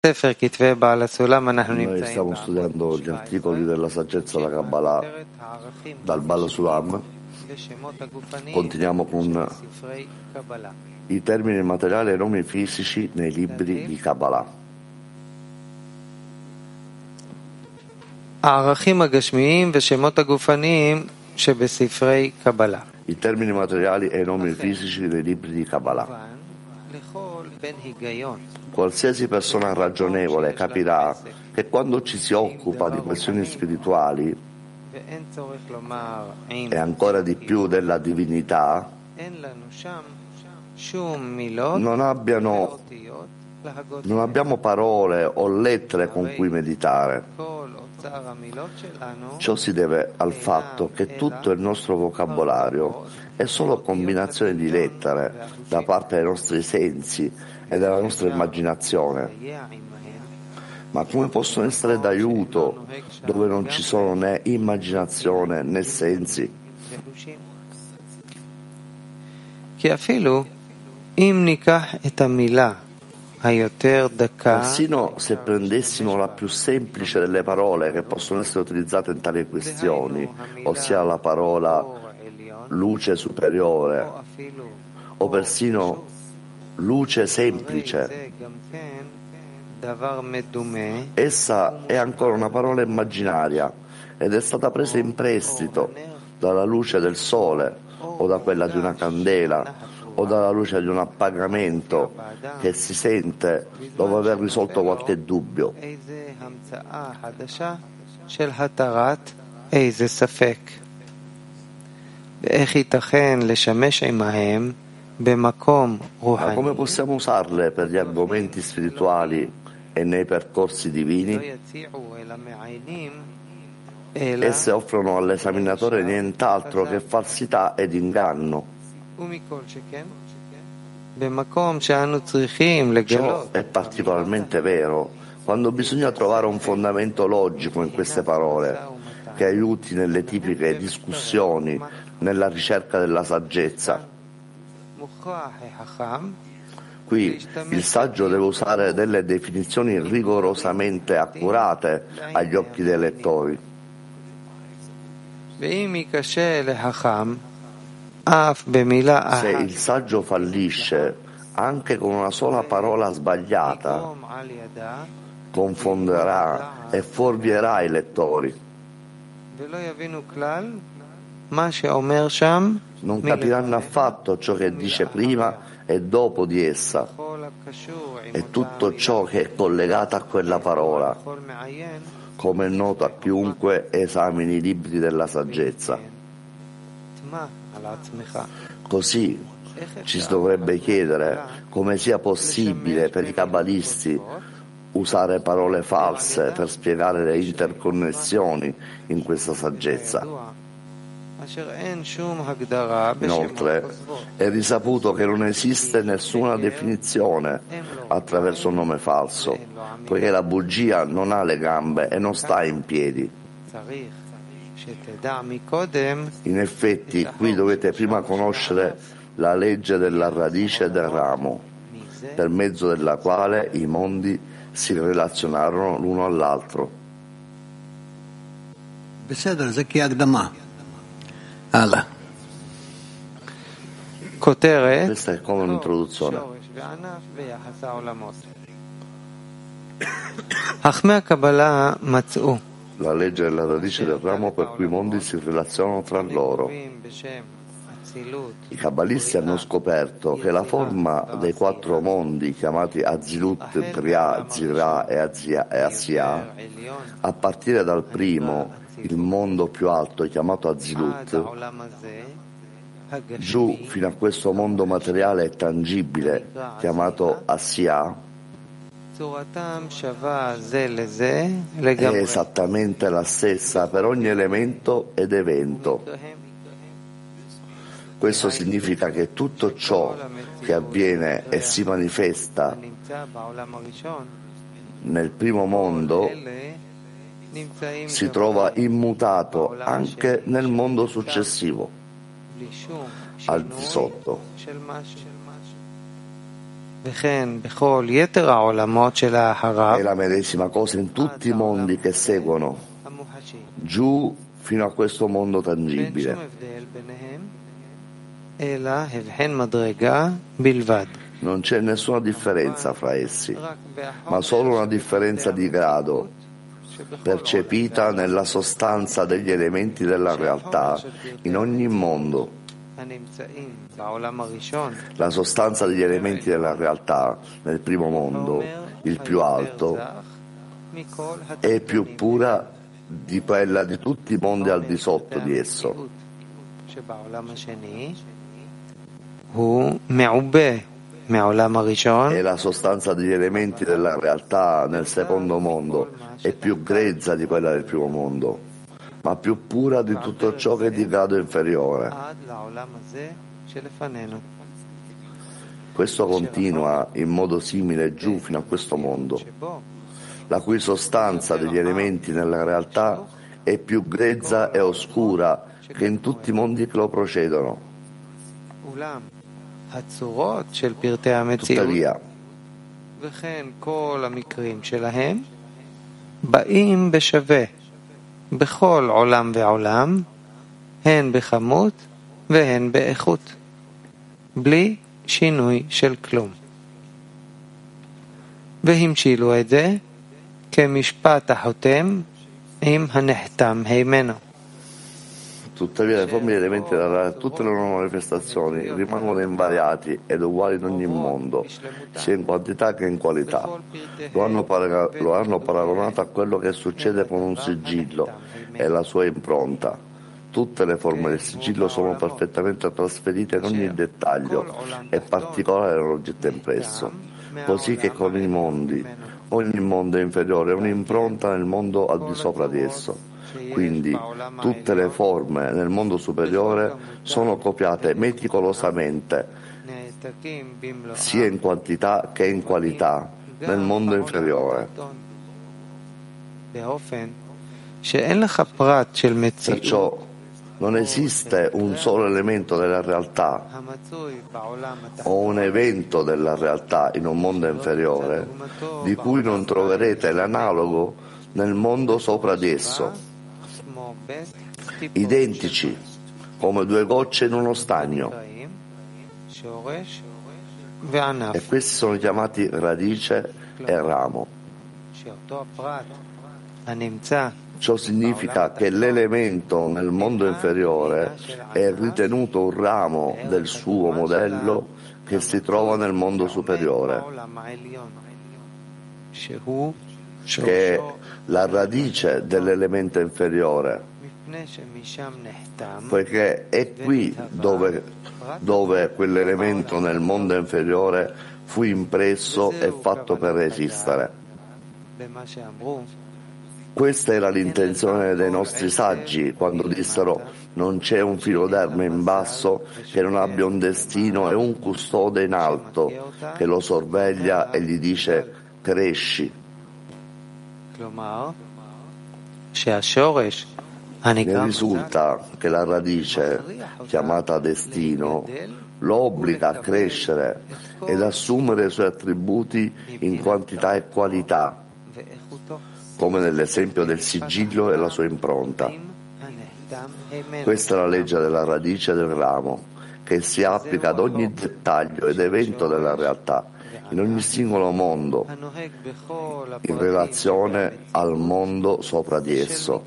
Noi stiamo studiando gli articoli della saggezza della Kabbalah dal Baal Sulam. Continuiamo con i termini materiali e i nomi fisici nei libri di Kabbalah. I termini materiali e i nomi fisici nei libri di Kabbalah. Qualsiasi persona ragionevole capirà che quando ci si occupa di questioni spirituali e ancora di più della divinità, non abbiamo parole o lettere con cui meditare. Ciò si deve al fatto che tutto il nostro vocabolario è solo combinazione di lettere da parte dei nostri sensi e della nostra immaginazione. Ma come possono essere d'aiuto dove non ci sono né immaginazione né sensi? Persino se prendessimo la più semplice delle parole che possono essere utilizzate in tali questioni, ossia la parola luce superiore o persino luce semplice, essa è ancora una parola immaginaria ed è stata presa in prestito dalla luce del sole o da quella di una candela o dalla luce di un appagamento che si sente dopo aver risolto qualche dubbio. Ma come possiamo usarle per gli argomenti spirituali e nei percorsi divini? Esse offrono all'esaminatore nient'altro che falsità ed inganno. Ciò è particolarmente vero quando bisogna trovare un fondamento logico in queste parole che aiuti nelle tipiche discussioni, nella ricerca della saggezza. Qui il saggio deve usare delle definizioni rigorosamente accurate agli occhi dei lettori. Se il saggio fallisce anche con una sola parola sbagliata, confonderà e fuorvierà i lettori. Non capiranno affatto ciò che dice prima e dopo di essa e tutto ciò che è collegato a quella parola, come è noto a chiunque esamini i libri della saggezza. Così ci si dovrebbe chiedere come sia possibile per i kabbalisti usare parole false per spiegare le interconnessioni in questa saggezza. Inoltre, è risaputo che non esiste nessuna definizione attraverso un nome falso, poiché la bugia non ha le gambe e non sta in piedi. In effetti, qui dovete prima conoscere la legge della radice del ramo, per mezzo della quale i mondi si relazionarono l'uno all'altro. Questa è come un'introduzione. La legge della radice del ramo per cui i mondi si relazionano tra loro. I kabbalisti hanno scoperto che la forma dei quattro mondi chiamati Azilut, Briah, Zirah e Asiya, a partire dal primo, il mondo più alto chiamato Azilut, giù fino a questo mondo materiale e tangibile chiamato Asiya, è esattamente la stessa per ogni elemento ed evento. Questo significa che tutto ciò che avviene e si manifesta nel primo mondo si trova immutato anche nel mondo successivo, al di sotto. È la medesima cosa in tutti i mondi che seguono, giù fino a questo mondo tangibile. Non c'è nessuna differenza fra essi, ma solo una differenza di grado, percepita nella sostanza degli elementi della realtà in ogni mondo. La sostanza degli elementi della realtà nel primo mondo, il più alto, è più pura di quella di tutti i mondi al di sotto di esso. E la sostanza degli elementi della realtà nel secondo mondo è più grezza di quella del primo mondo, ma più pura di tutto ciò che è di grado inferiore. Questo continua in modo simile giù fino a questo mondo, la cui sostanza degli elementi nella realtà è più grezza e oscura che in tutti i mondi che lo precedono. Tuttavia, בכל עולם ועולם, הן בכמות והן באיכות, בלי שינוי של כלום. והמשילו את זה כמשפט החותם עם הנחתם הימנו. tutte le elementi tutte le loro manifestazioni rimangono invariati ed uguali in ogni mondo, sia in quantità che in qualità. Lo hanno paragonato a quello che succede con un sigillo e la sua impronta. Tutte le forme del sigillo sono perfettamente trasferite in ogni dettaglio e particolare dell'oggetto impresso, così che con i mondi. Ogni mondo è inferiore a un'impronta nel mondo al di sopra di esso. Quindi tutte le forme nel mondo superiore sono copiate meticolosamente, sia in quantità che in qualità, nel mondo inferiore. Perciò non esiste un solo elemento della realtà o un evento della realtà in un mondo inferiore di cui non troverete l'analogo nel mondo sopra di esso, identici come due gocce in uno stagno, e questi sono chiamati radice e ramo. Ciò significa che l'elemento nel mondo inferiore è ritenuto un ramo del suo modello che si trova nel mondo superiore, che è la radice dell'elemento inferiore, poiché è qui dove quell'elemento nel mondo inferiore fu impresso e fatto per esistere. Questa era l'intenzione dei nostri saggi quando dissero: non c'è un filo d'erba in basso che non abbia un destino e un custode in alto che lo sorveglia e gli dice: cresci. Ne risulta che la radice, chiamata destino, lo obbliga a crescere ed assumere i suoi attributi in quantità e qualità, come nell'esempio del sigillo e la sua impronta. Questa è la legge della radice del ramo, che si applica ad ogni dettaglio ed evento della realtà, in ogni singolo mondo, in relazione al mondo sopra di esso.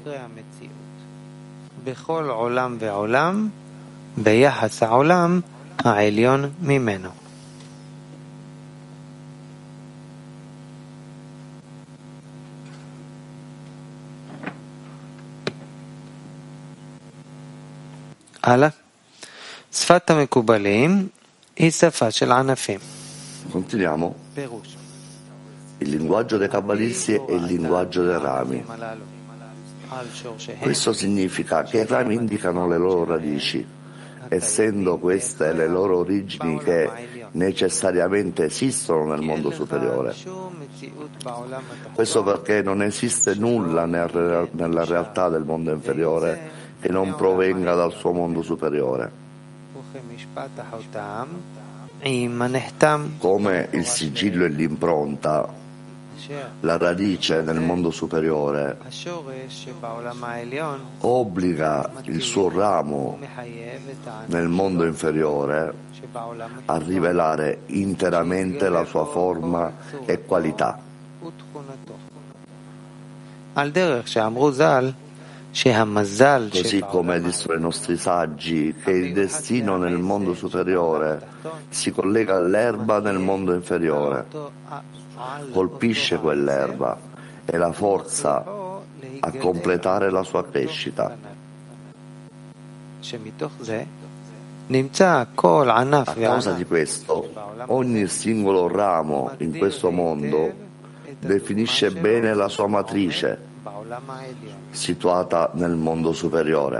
בכל עולם ועולם ביחס העולם העליון ממנו. הלאה. שפת המקובלים היא שפה של ענפים. Continuiamo. Il linguaggio dei cabalisti è il linguaggio dei rami. Questo significa che i rami indicano le loro radici, essendo queste le loro origini che necessariamente esistono nel mondo superiore. Questo perché non esiste nulla nella realtà del mondo inferiore che non provenga dal suo mondo superiore. come il sigillo e l'impronta, la radice nel mondo superiore obbliga il suo ramo nel mondo inferiore a rivelare interamente la sua forma e qualità. Così come dissero i nostri saggi che il destino nel mondo superiore si collega all'erba nel mondo inferiore, colpisce quell'erba e la forza a completare la sua crescita. A causa di questo, ogni singolo ramo in questo mondo definisce bene la sua matrice situata nel mondo superiore.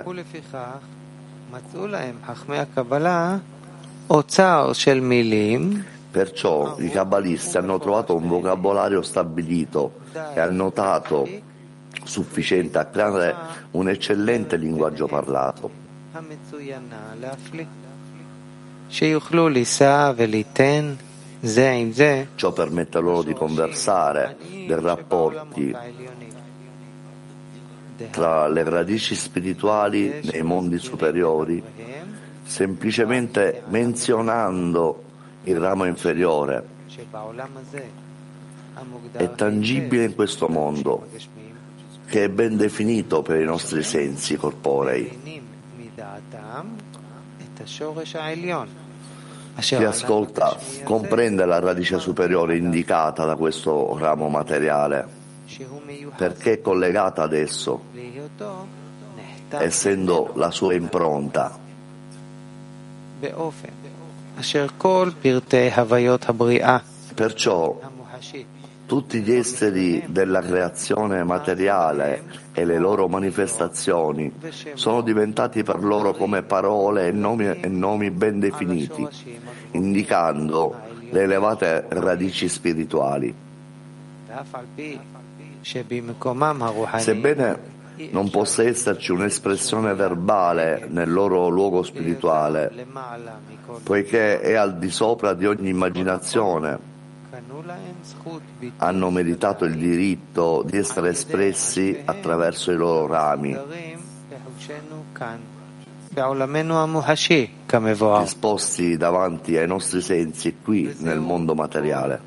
Perciò i kabbalisti hanno trovato un vocabolario stabilito e annotato sufficiente a creare un eccellente linguaggio parlato. Ciò permette loro di conversare dei rapporti tra le radici spirituali nei mondi superiori, semplicemente menzionando il ramo inferiore. È tangibile in questo mondo, che è ben definito per i nostri sensi corporei. Chi ascolta comprende la radice superiore indicata da questo ramo materiale, perché è collegata ad esso, essendo la sua impronta. Perciò tutti gli esteri della creazione materiale e le loro manifestazioni sono diventati per loro come parole e nomi ben definiti, indicando le elevate radici spirituali. Sebbene non possa esserci un'espressione verbale nel loro luogo spirituale, poiché è al di sopra di ogni immaginazione, hanno meritato il diritto di essere espressi attraverso i loro rami, esposti davanti ai nostri sensi qui nel mondo materiale.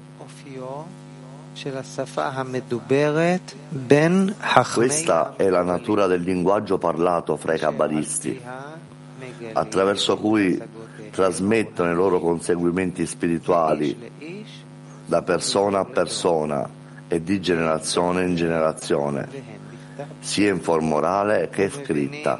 Questa è la natura del linguaggio parlato fra i kabbalisti, attraverso cui trasmettono i loro conseguimenti spirituali da persona a persona e di generazione in generazione, sia in forma orale che scritta.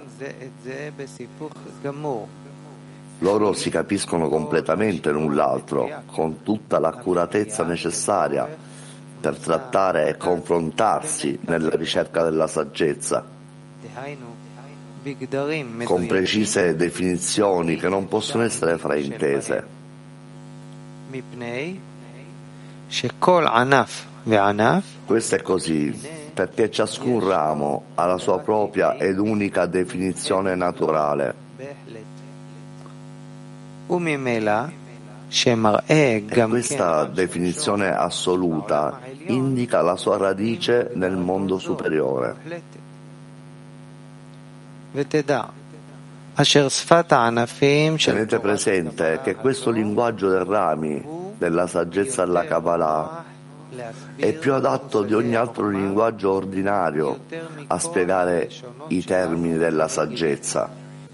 Loro si capiscono completamente l'un l'altro, con tutta l'accuratezza necessaria per trattare e confrontarsi nella ricerca della saggezza, con precise definizioni che non possono essere fraintese. Questo è così perché ciascun ramo ha la sua propria ed unica definizione naturale. E questa definizione assoluta indica la sua radice nel mondo superiore. Tenete presente che questo linguaggio dei rami della saggezza della Kabbalah è più adatto di ogni altro linguaggio ordinario a spiegare i termini della saggezza.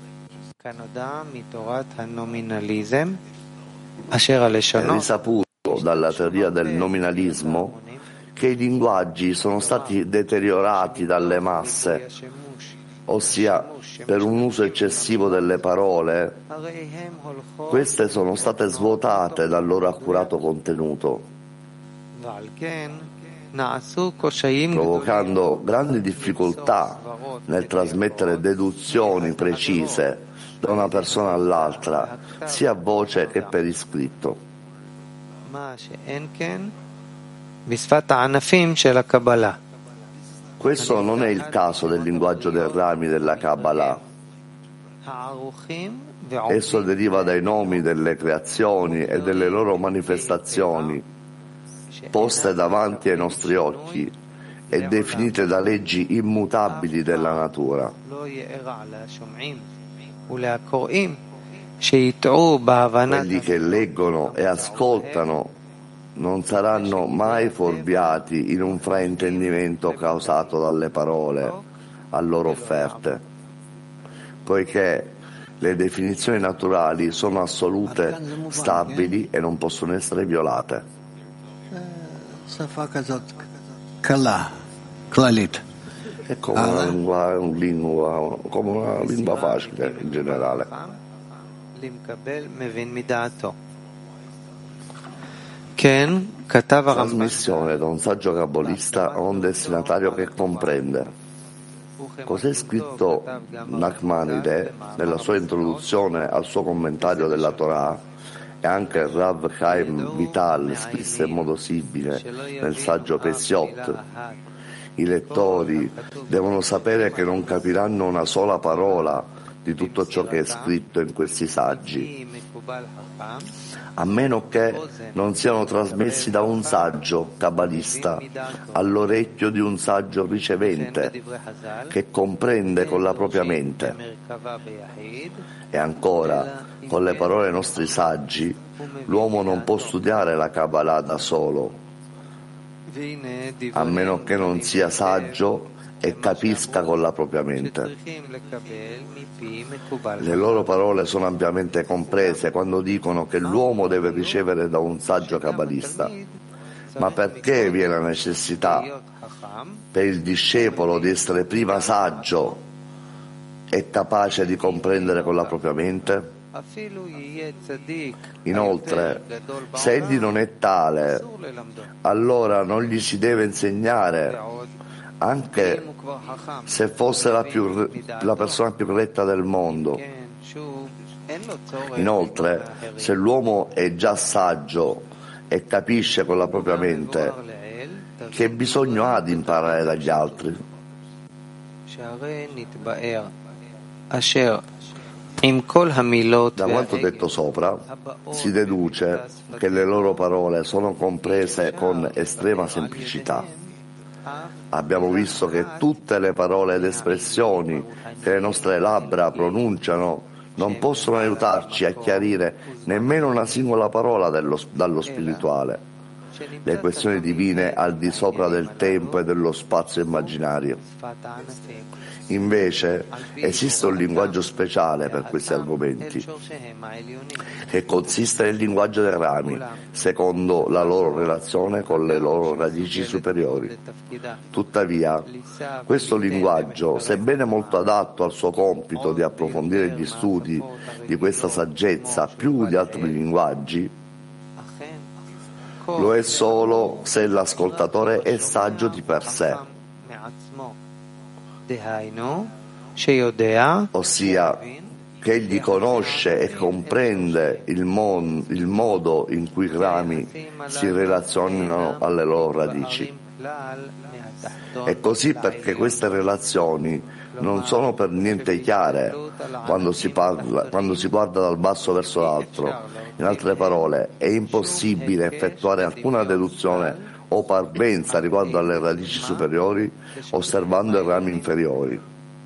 È risaputo dalla teoria del nominalismo che i linguaggi sono stati deteriorati dalle masse, ossia per un uso eccessivo delle parole. Queste sono state svuotate dal loro accurato contenuto, provocando grandi difficoltà nel trasmettere deduzioni precise da una persona all'altra, sia a voce che per iscritto. Questo non è il caso del linguaggio dei rami della Kabbalah. Esso deriva dai nomi delle creazioni e delle loro manifestazioni, poste davanti ai nostri occhi e definite da leggi immutabili della natura. Quelli che leggono e ascoltano non saranno mai fuorviati in un fraintendimento causato dalle parole a loro offerte, poiché le definizioni naturali sono assolute, stabili e non possono essere violate. È come una lingua facile in generale. Trasmissione da un saggio cabalista a un destinatario che comprende. Cos'è scritto Nachmanide nella sua introduzione al suo commentario della Torah, e anche Rav Chaim Vital scrisse in modo simile nel saggio Pesiot. I lettori devono sapere che non capiranno una sola parola di tutto ciò che è scritto in questi saggi, a meno che non siano trasmessi da un saggio cabalista all'orecchio di un saggio ricevente che comprende con la propria mente. E ancora, con le parole dei nostri saggi, l'uomo non può studiare la Kabbalah da solo, a meno che non sia saggio e capisca con la propria mente. Le loro parole sono ampiamente comprese quando dicono che l'uomo deve ricevere da un saggio cabalista. Ma perché vi è la necessità per il discepolo di essere prima saggio e capace di comprendere con la propria mente? Inoltre, se egli non è tale, allora non gli si deve insegnare, anche se fosse la persona più retta del mondo. Inoltre, se l'uomo è già saggio e capisce con la propria mente, che bisogno ha di imparare dagli altri? Da quanto detto sopra, si deduce che le loro parole sono comprese con estrema semplicità. Abbiamo visto che tutte le parole ed espressioni che le nostre labbra pronunciano non possono aiutarci a chiarire nemmeno una singola parola dallo spirituale, le questioni divine al di sopra del tempo e dello spazio immaginario. Invece esiste un linguaggio speciale per questi argomenti, che consiste nel linguaggio dei rami, secondo la loro relazione con le loro radici superiori. Tuttavia, questo linguaggio, sebbene molto adatto al suo compito di approfondire gli studi di questa saggezza più di altri linguaggi, lo è solo se l'ascoltatore è saggio di per sé, ossia che egli conosce e comprende il modo in cui i rami si relazionano alle loro radici. E così perché queste relazioni non sono per niente chiare quando si guarda dal basso verso l'altro. In altre parole, è impossibile effettuare alcuna deduzione o parvenza riguardo alle radici superiori osservando i rami inferiori.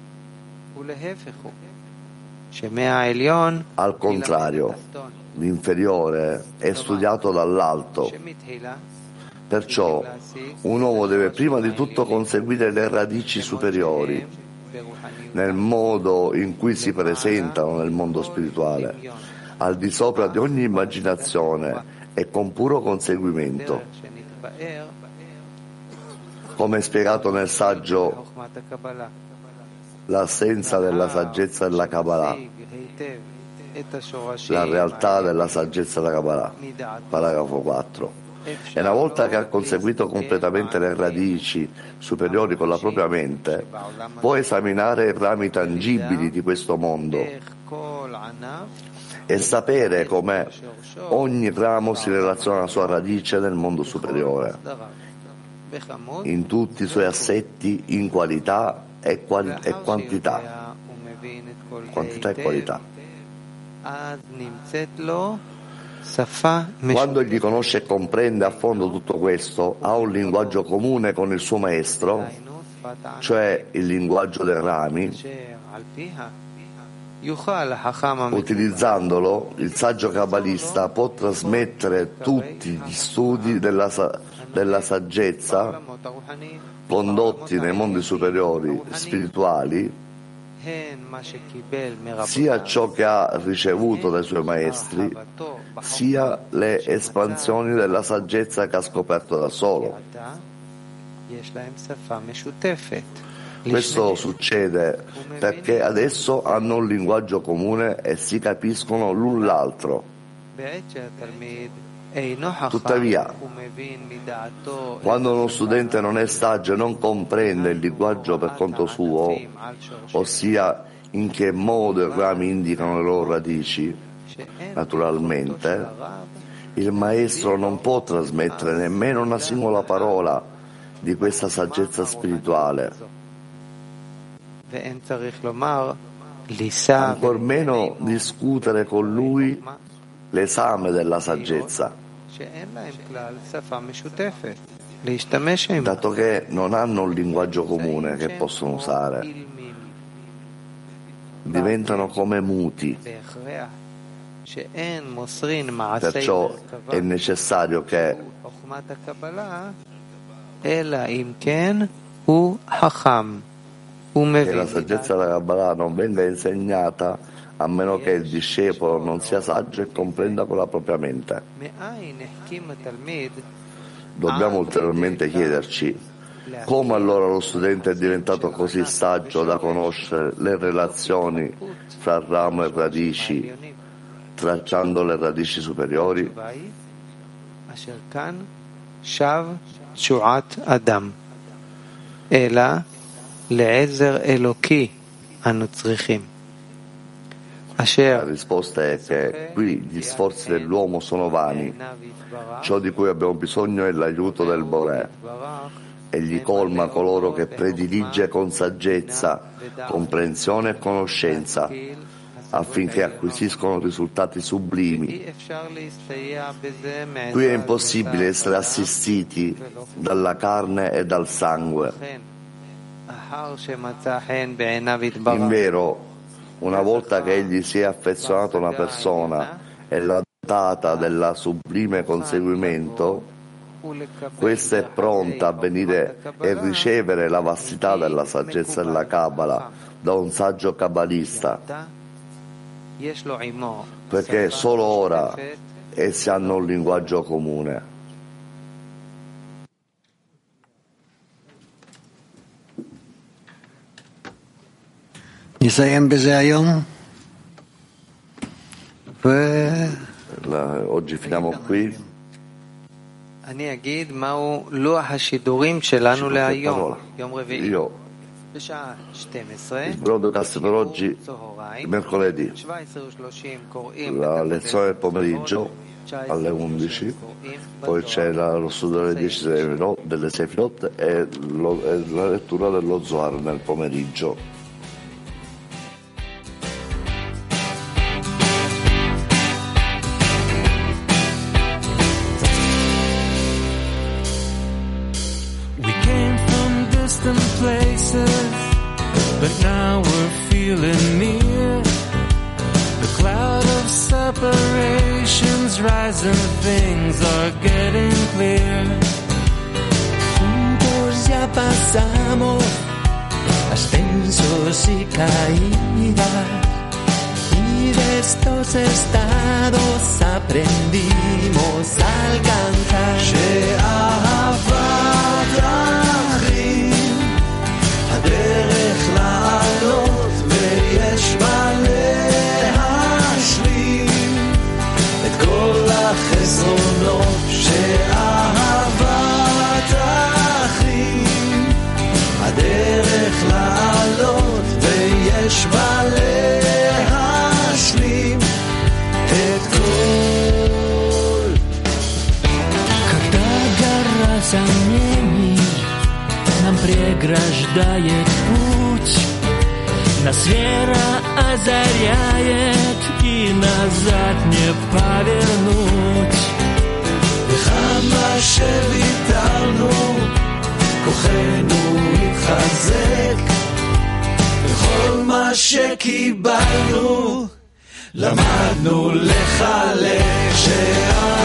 Al contrario, l'inferiore è studiato dall'alto. Perciò un uomo deve prima di tutto conseguire le radici superiori nel modo in cui si presentano nel mondo spirituale, al di sopra di ogni immaginazione e con puro conseguimento. Come spiegato nel saggio L'assenza della saggezza della Kabbalah, la realtà della saggezza della Kabbalah, paragrafo 4. E una volta che ha conseguito completamente le radici superiori con la propria mente, può esaminare i rami tangibili di questo mondo e sapere come ogni ramo si relaziona alla sua radice nel mondo superiore, in tutti i suoi assetti, in qualità e quantità. Quantità e qualità. Quando egli conosce e comprende a fondo tutto questo, ha un linguaggio comune con il suo maestro, cioè il linguaggio dei rami. Utilizzandolo, il saggio kabbalista può trasmettere tutti gli studi della saggezza condotti nei mondi superiori spirituali, sia ciò che ha ricevuto dai suoi maestri, sia le espansioni della saggezza che ha scoperto da solo. Questo succede perché adesso hanno un linguaggio comune e si capiscono l'un l'altro. Tuttavia, quando uno studente non è saggio e non comprende il linguaggio per conto suo, ossia in che modo i rami indicano le loro radici, naturalmente, il maestro non può trasmettere nemmeno una singola parola di questa saggezza spirituale, ancor meno discutere con lui l'esame della saggezza, dato che non hanno un linguaggio comune che possono usare, diventano come muti. Perciò è necessario che la saggezza della Kabbalah non venga insegnata a meno che il discepolo non sia saggio e comprenda con la propria mente. Dobbiamo ulteriormente chiederci come allora lo studente è diventato così saggio da conoscere le relazioni fra ramo e radici, tracciando le radici superiori. La risposta è che qui gli sforzi dell'uomo sono vani. Ciò di cui abbiamo bisogno è l'aiuto del Boré. Egli colma coloro che predilige con saggezza, comprensione e conoscenza, affinché acquisiscono risultati sublimi. Qui è impossibile essere assistiti dalla carne e dal sangue. Invero, una volta che egli si è affezionato a una persona e l'ha dotata della sublime conseguimento, questa è pronta a venire e ricevere la vastità della saggezza della Kabbalah da un saggio kabbalista, perché solo ora essi hanno un linguaggio comune. Oggi finiamo qui. Io il broadcast per oggi, mercoledì, la lezione del pomeriggio alle 11, poi c'è lo studio delle 10 delle Sefirot e la lettura dello Zohar nel pomeriggio. But now we're feeling near. The cloud of separations rising, things are getting clear. Juntos ya pasamos ascensos y caídas, y de estos estados aprendimos a alcanzar. הדרך לעלות ויש מה להשלים את כל החסרונות שאהבת אחים. הדרך לעלות ויש מה להשלים את כל. Когда гора сомнений нам преграждает путь, Нас вера озаряет, и назад не повернуть. וכמה שוויתרנו, כוחנו התחזק, וכל מה שקיבלנו, למדנו לחלק